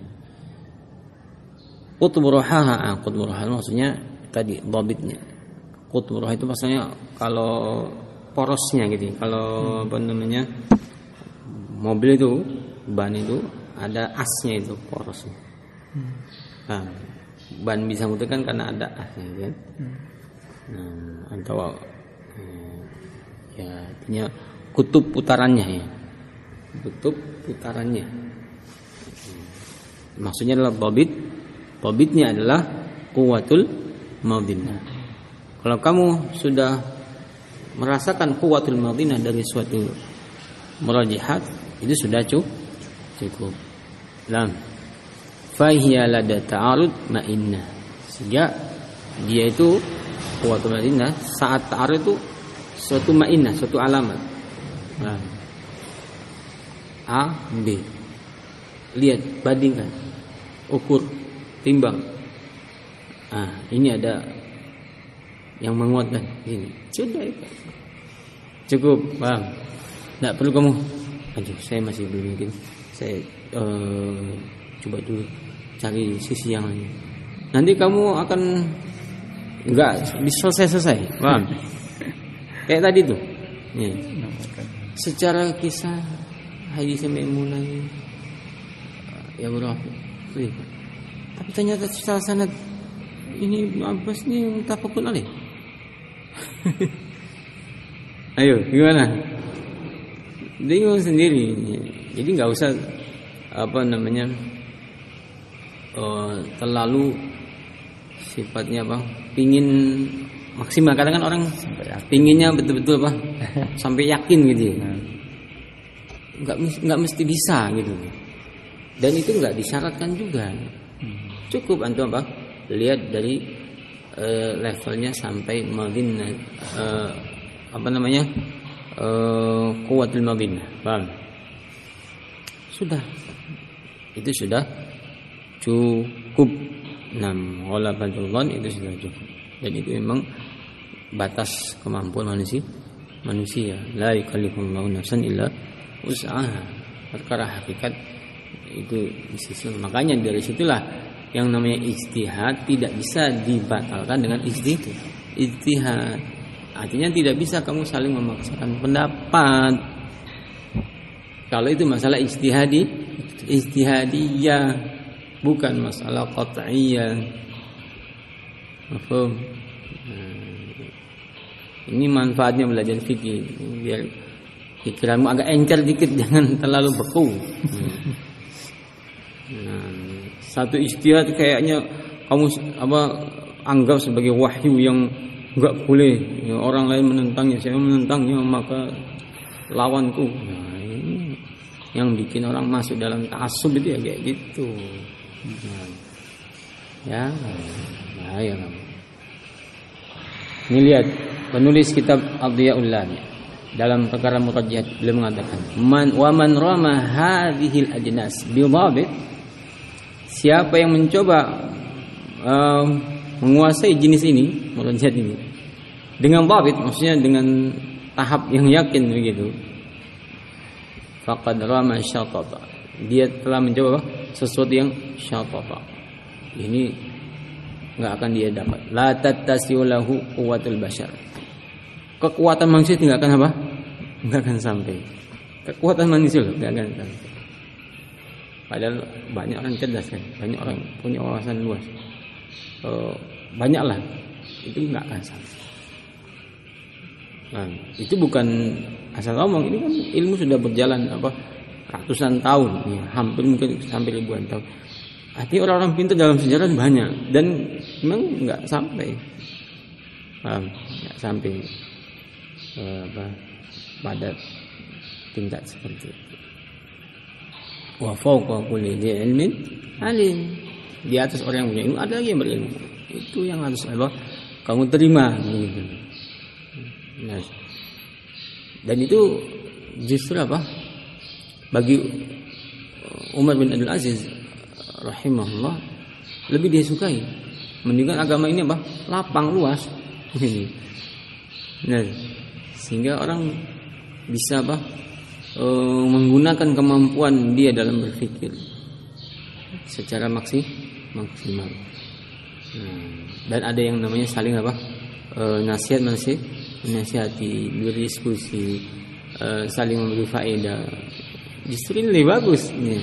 Qutburuhaha, qutburuha maksudnya tadi dhabitnya. Qutburuha itu maksudnya kalau porosnya gitu. Kalau mobil itu ban itu ada asnya, itu porosnya. Nah, ban bisa muter kan karena ada asnya kan. Nah, atau ya artinya kutub putarannya ya. Kutub putarannya. Maksudnya adalah dhabit. Dhabitnya adalah quwwatul madinah. Kalau kamu sudah merasakan quwwatul madinah dari suatu murajjihat, itu sudah cukup. Lam fahiya lada ta'arud ma'innah. Sehingga dia itu quwwatul madinah saat ta'arud itu suatu ma'innah, suatu alamat. Nah, A, B. Lihat, bandingkan, ukur, timbang. Ah, ini ada yang menguatkan ini. Sudah itu. Cukup, paham? Tidak perlu kamu. Aduh, saya masih belum mungkin. Saya coba dulu cari sisi yang lain. Nanti kamu akan nggak selesai, paham? Kayak tadi tuh, ya. Secara kisah hadis Maimunah ya berapa? Tapi ternyata secara sanad ini Ibnu Abbas ini muttafaqun alaih. Ayo, gimana? Bingung sendiri. Jadi nggak usah terlalu sifatnya pingin maksimal. Kadang kan orang pinginnya betul-betul sampai yakin gitu ya. Nggak mesti bisa gitu. Dan itu nggak disyaratkan juga. Cukup antum lihat dari levelnya sampai madinah quwwatul madinah. Paham? Sudah. Itu sudah cukup. Ghalabatul dhann itu sudah cukup. Dan itu memang batas kemampuan manusia. La yukallifullahu nafsan illa wus'aha. Perkara hakikat itu di sisi. Makanya dari situlah yang namanya ijtihad tidak bisa dibatalkan dengan ijtihad. Artinya tidak bisa kamu saling memaksakan pendapat. Kalau itu masalah ijtihadiyah, bukan masalah qat'iyah. Paham? Ini manfaatnya belajar fikih, biar pikiranmu agak encer dikit, jangan terlalu beku. Satu ijtihad kayaknya kamu anggap sebagai wahyu yang enggak boleh ya, orang lain menentangnya, saya menentangnya maka lawanku. Nah, ini yang bikin orang masuk dalam ta'assub itu ya kayak gitu. Ya, bahaya kamu. Ini lihat penulis kitab Adhiyaul Lami dalam perkara murajjah beliau mengatakan man rama hadhil ajnas bil dhabit. Siapa yang mencoba menguasai jenis ini, murajjah ini dengan dhabit, maksudnya dengan tahap yang yakin begitu, faqad rama syatata. Dia telah mencoba sesuatu yang syatata. Ini enggak akan dia dapat. La tattasiu lahu quwwatul bashar. Kekuatan manusia tidak akan enggak akan sampai. Kekuatan manusia enggak akan sampai. Padahal banyak orang cerdas kan, banyak orang punya wawasan luas. Banyaklah itu enggak akan sampai. Nah, itu bukan asal ngomong, ini kan ilmu sudah berjalan ratusan tahun, ya, hampir mungkin sampai ribuan tahun. Artinya orang-orang pintar dalam sejarah banyak dan memang enggak sampai. Enggak sampai pada tingkat seperti itu. Wa fawqa kulli dzi ilmin alim. Di atas orang yang punya ilmu ada lagi yang berilmu. Itu yang harus kamu terima gitu. Nah, dan itu justru bagi Umar bin Abdul Aziz rahimahullah lebih dia sukai mendingan agama ini lapang luas ini. Nah, sehingga orang bisa menggunakan kemampuan dia dalam berpikir secara maksimal. Dan ada yang namanya saling nasihati, berdiskusi, saling memberi faedah. Justru ini lebih bagus nih.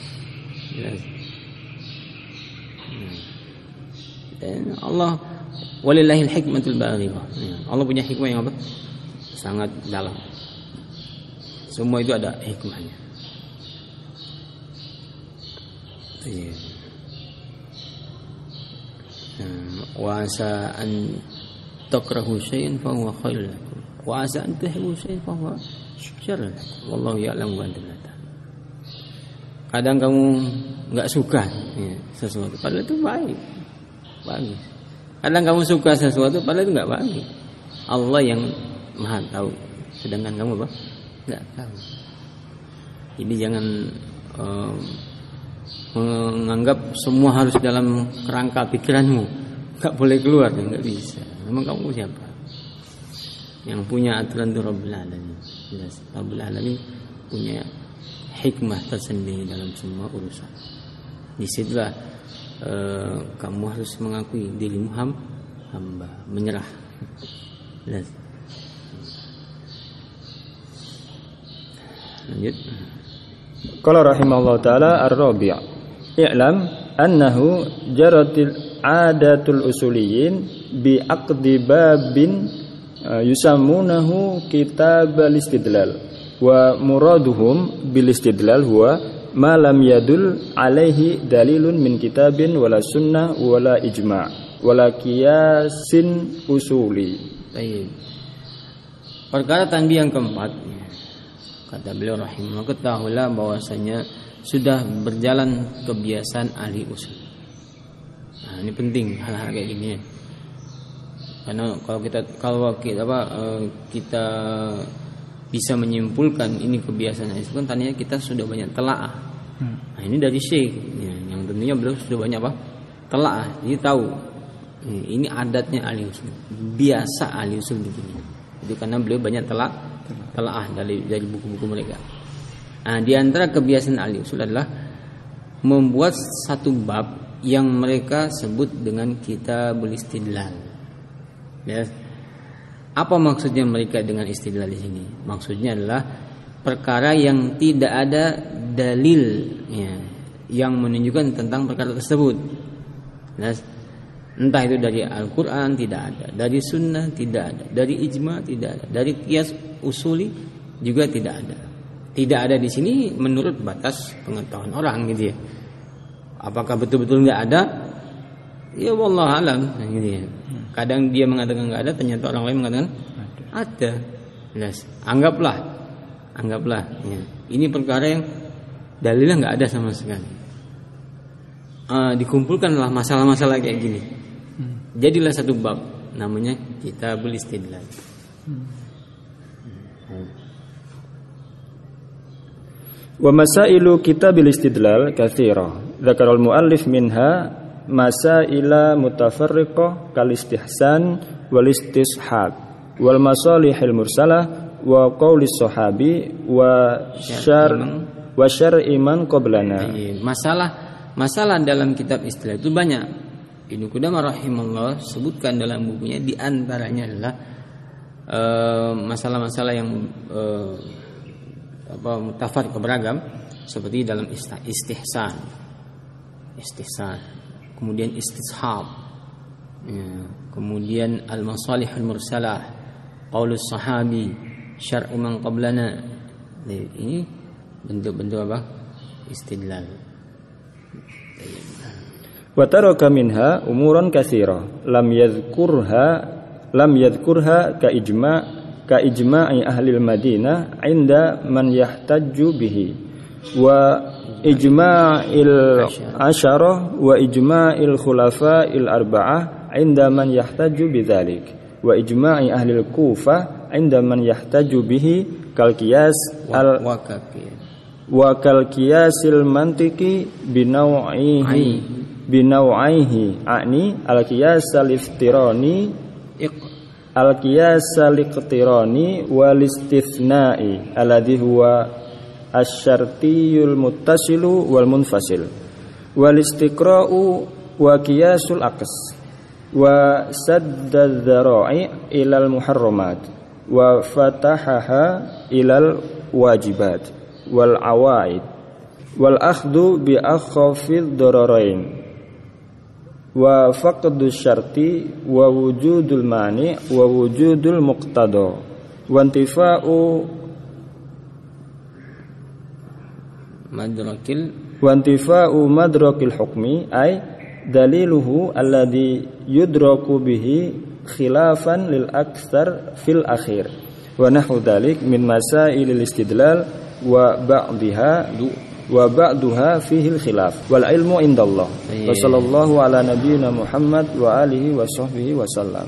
Dan Allah walillahil hikmatul balighah. Allah punya hikmah yang sangat dalam. Semua itu ada hikmahnya. Wa asa an takrahu syai'an fa huwa khairun lakum wa asa an tuhibbu syai'an fa huwa syarrun lakum wallahu ya'lamu wa antum la ta'lamun. Kadang kamu enggak suka sesuatu padahal itu bagus. Kadang kamu suka sesuatu padahal itu enggak bagus. Allah yang Maha tahu, sedangkan kamu enggak tahu. Jadi jangan menganggap semua harus dalam kerangka pikiranmu, enggak boleh keluar, enggak bisa. Memang kamu siapa? Yang punya aturan itu Rabbul Alamin. Jelas, Rabbul Alamin punya hikmah tersendiri dalam semua urusan. Disitulah kamu harus mengakui dirimu hamba, menyerah. Lanjut. Qala rahimahullah taala ar-rabi'. I'lam annahu jaratil adatul usuliyin bi aqdi babin yusammunahu kitab al-istidlal wa muraduhum bil istidlal huwa ma lam yadul alaihi dalilun min kitabin wala sunnah wala ijma' wala qiyasin usuli. Baik. Perkara tanbih yang keempat, kata beliau rahimahullah, ketahuilah bahwasanya sudah berjalan kebiasaan ahli usul. Nah, ini penting hal-hal kayak gini ya. Karena kalau kita bisa menyimpulkan ini kebiasaan ahli usul, kan tadinya kita sudah banyak telaah. Nah, ini dari syekh ya, yang tentunya beliau sudah banyak telaah. Jadi tahu ini adatnya ahli usul. Biasa ahli usul begini. Jadi karena beliau banyak telaah dari buku-buku mereka. Nah, di antara kebiasaan ahli usul adalah membuat satu bab yang mereka sebut dengan kitabul istidlal. Ya. Apa maksudnya mereka dengan istidlal di sini? Maksudnya adalah perkara yang tidak ada dalil ya, yang menunjukkan tentang perkara tersebut. Nah, entah itu dari Al-Quran tidak ada, dari Sunnah tidak ada, dari Ijma tidak ada, dari qiyas usuli juga tidak ada. Tidak ada di sini menurut batas pengetahuan orang gitu ya. Apakah betul-betul nggak ada? Ya wallahu alam gitu ya. Kadang dia mengatakan nggak ada, ternyata orang lain mengatakan ada. Nah, anggaplah ya. Ini perkara yang dalilnya nggak ada sama sekali. Dikumpulkanlah masalah-masalah kayak gini. Jadilah satu bab namanya kitabul istidlal. Wa masailu kitabil istidlal katsira. Dzakara al-muallif minha masaila mutafarriqah kal istihsan wal istishab wal masalihil mursalah wa qaulis sahabi wa syar'i man qablana. Masalah dalam kitab istidlal itu banyak. Ibnu Qudamah rahimahullah sebutkan dalam bukunya, di antaranya adalah masalah-masalah yang mutafarriq beragam, seperti dalam istihsan, kemudian istishab, ya, kemudian al-masalihul mursalah, qaulus sahabi, syar'u man qablana. Ini bentuk-bentuk apa? Istidlal. Wa taraka minha umuran katsira lam yadhkurha ka ijma'i ahli al-Madinah 'inda man yahtajju bihi wa ijma'il asyarah wa ijma'il khulafa'il arba'ah 'inda man yahtajju bidzalik wa ijma'i ahli al-Kufah 'inda man yahtajju bihi kal qiyas wa kal qiyasil mantiqi binawaihi a'ni al-qiyas al-iftirani wal istitsna'i alladhi huwa asy-syartiyul muttasilu wal munfasil wal istiqra'u wa qiyasul aqs wa saddadz dzara'i ilal muharramat wa fatahaha ilal wajibat wal awaid wal akhdhu bi akhafidh dararain wa faqdu syarti wa wujudul mani wa wujudul muqtada wa intifa'u madrakil hukmi ay daliluhu alladhi yudraku bihi khilafan lil aktsar fil akhir wa nahwu dzalik min masailil istidlal wa ba'duha fihi al-khilaf wal ilmu indallah. Wa sallallahu ala nabiyyina Muhammad wa alihi wa sahbihi wa sallam.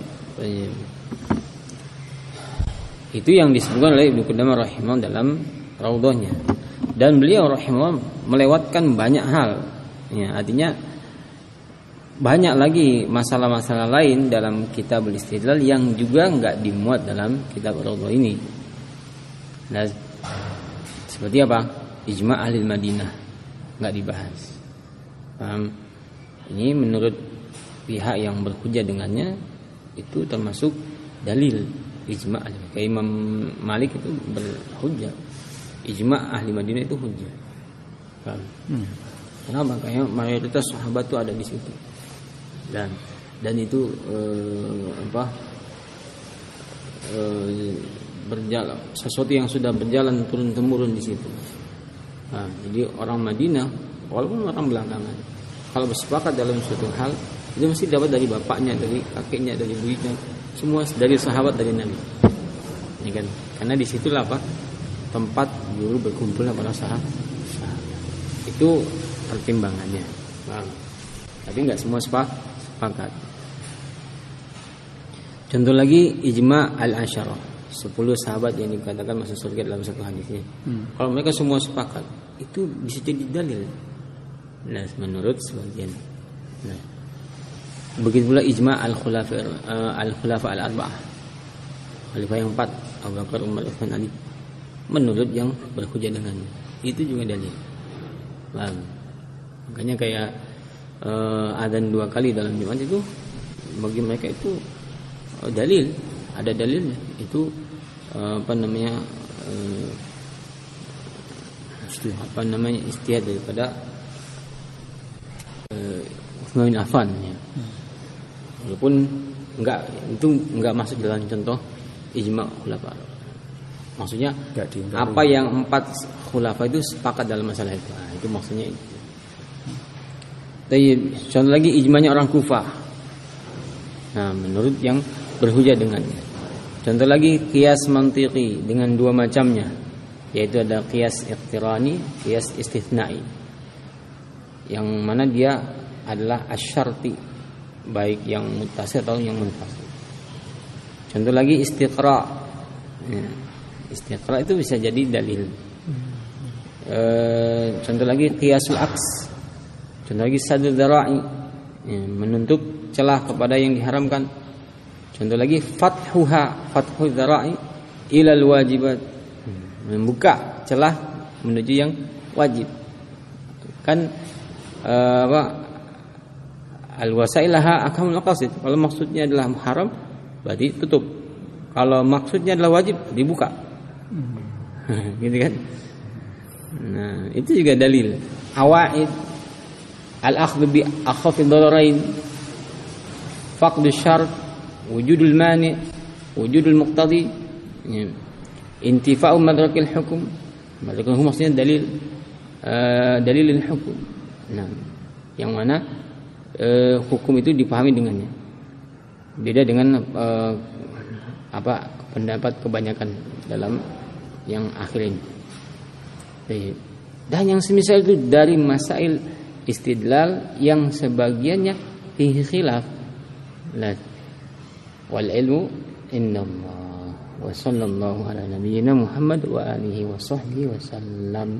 Itu yang disebutkan oleh Ibnu Qudamah rahimahullah dalam raudhahnya. Dan beliau rahimahullah melewatkan banyak hal. Ya, artinya banyak lagi masalah-masalah lain dalam kitabul istidlal yang juga enggak dimuat dalam kitab raudhah ini. Nah, seperti apa? ijma' ahli Madinah, enggak dibahas. Paham? Ini menurut pihak yang berhujjah dengannya itu termasuk dalil ijma' ahli. Kayak Imam Malik itu berhujjah. Ijma' ahli Madinah itu hujjah. Paham? Kenapa? Makanya mayoritas sahabat itu ada di situ. Dan itu berjalan, sesuatu yang sudah berjalan turun temurun di situ. Nah, jadi orang Madinah walaupun orang belakangan, kalau bersepakat dalam suatu hal itu mesti dapat dari bapaknya, dari kakeknya, dari ibunya, semua dari sahabat, dari Nabi. Ya kan? Karena di situlah tempat dulu berkumpulnya para sahabat. Itu pertimbangannya. Nah, tapi nggak semua sepakat. Contoh lagi ijma' al-asyarah, 10 sahabat yang dikatakan masuk surga dalam satu hadisnya. Kalau mereka semua sepakat, itu bisa jadi dalil. Nah, menurut sebagian. Nah, begitu pula ijma' al-khulafa al-arba'ah, khalifah yang 4, Abu Bakar, Umar, Utsman, Ali. Menurut yang berhujjah dengannya, itu juga dalil. Paham? Makanya kayak adzan 2 kali dalam Jumat itu bagi mereka itu dalil, ada dalilnya. Itu istihad daripada Utsman bin Affan ya. Walaupun enggak masuk dalam contoh ijma' khulafa. Maksudnya apa yang 4 khulafa itu sepakat dalam masalah itu. Nah, itu maksudnya itu. Contoh lagi ijma'nya orang Kufah. Nah, menurut yang berhujjah dengannya. Contoh lagi qiyas mantiqi dengan 2 macamnya, yaitu ada qiyas iqtirani, qiyas istitsna'i. Yang mana dia adalah asyarti, baik yang muttasil atau yang munfasil. Contoh lagi istiqra. Ya, istiqra itu bisa jadi dalil. Contoh lagi qiyasul aks. Contoh lagi saddu dzara'i, ya, menutup celah kepada yang diharamkan. Contoh lagi fathu dzara'i ilal wajibat, membuka celah menuju yang wajib. Kan al-wasailaha akamul maqasid. Kalau maksudnya adalah haram, berarti tutup. Kalau maksudnya adalah wajib, dibuka. Gitu kan? Nah, itu juga dalil. Awaid al-akhdhu bi akhafid dararain, faqdu syart, wujudul mani, wujudul muqtadi, intifa'u madrakil hukum. Madrakil hukum maksudnya dalilil hukum. Nah, yang mana hukum itu dipahami dengannya. Beda dengan pendapat kebanyakan dalam yang akhir ini. Dan yang semisal itu dari masail istidlal yang sebagiannya fihi khilaf. Wal ilmu indallah. Wa sallallahu ala nabiyyina Muhammad wa alihi wa sahbihi wa sallam.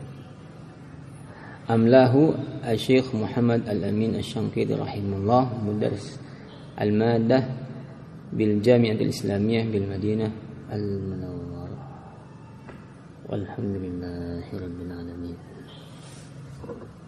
Amlahu Asy-Syaikh Muhammad Al-Amin Asy-Syanqiti rahimahullah, mudarris al-maddah bil Jami'atil Islamiyah bil Madinah Al-Munawwarah. Walhamdulillahirabbil alamin.